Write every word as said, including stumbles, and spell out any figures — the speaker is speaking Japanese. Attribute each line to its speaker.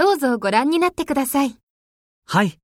Speaker 1: どうぞご覧になってください。
Speaker 2: はい。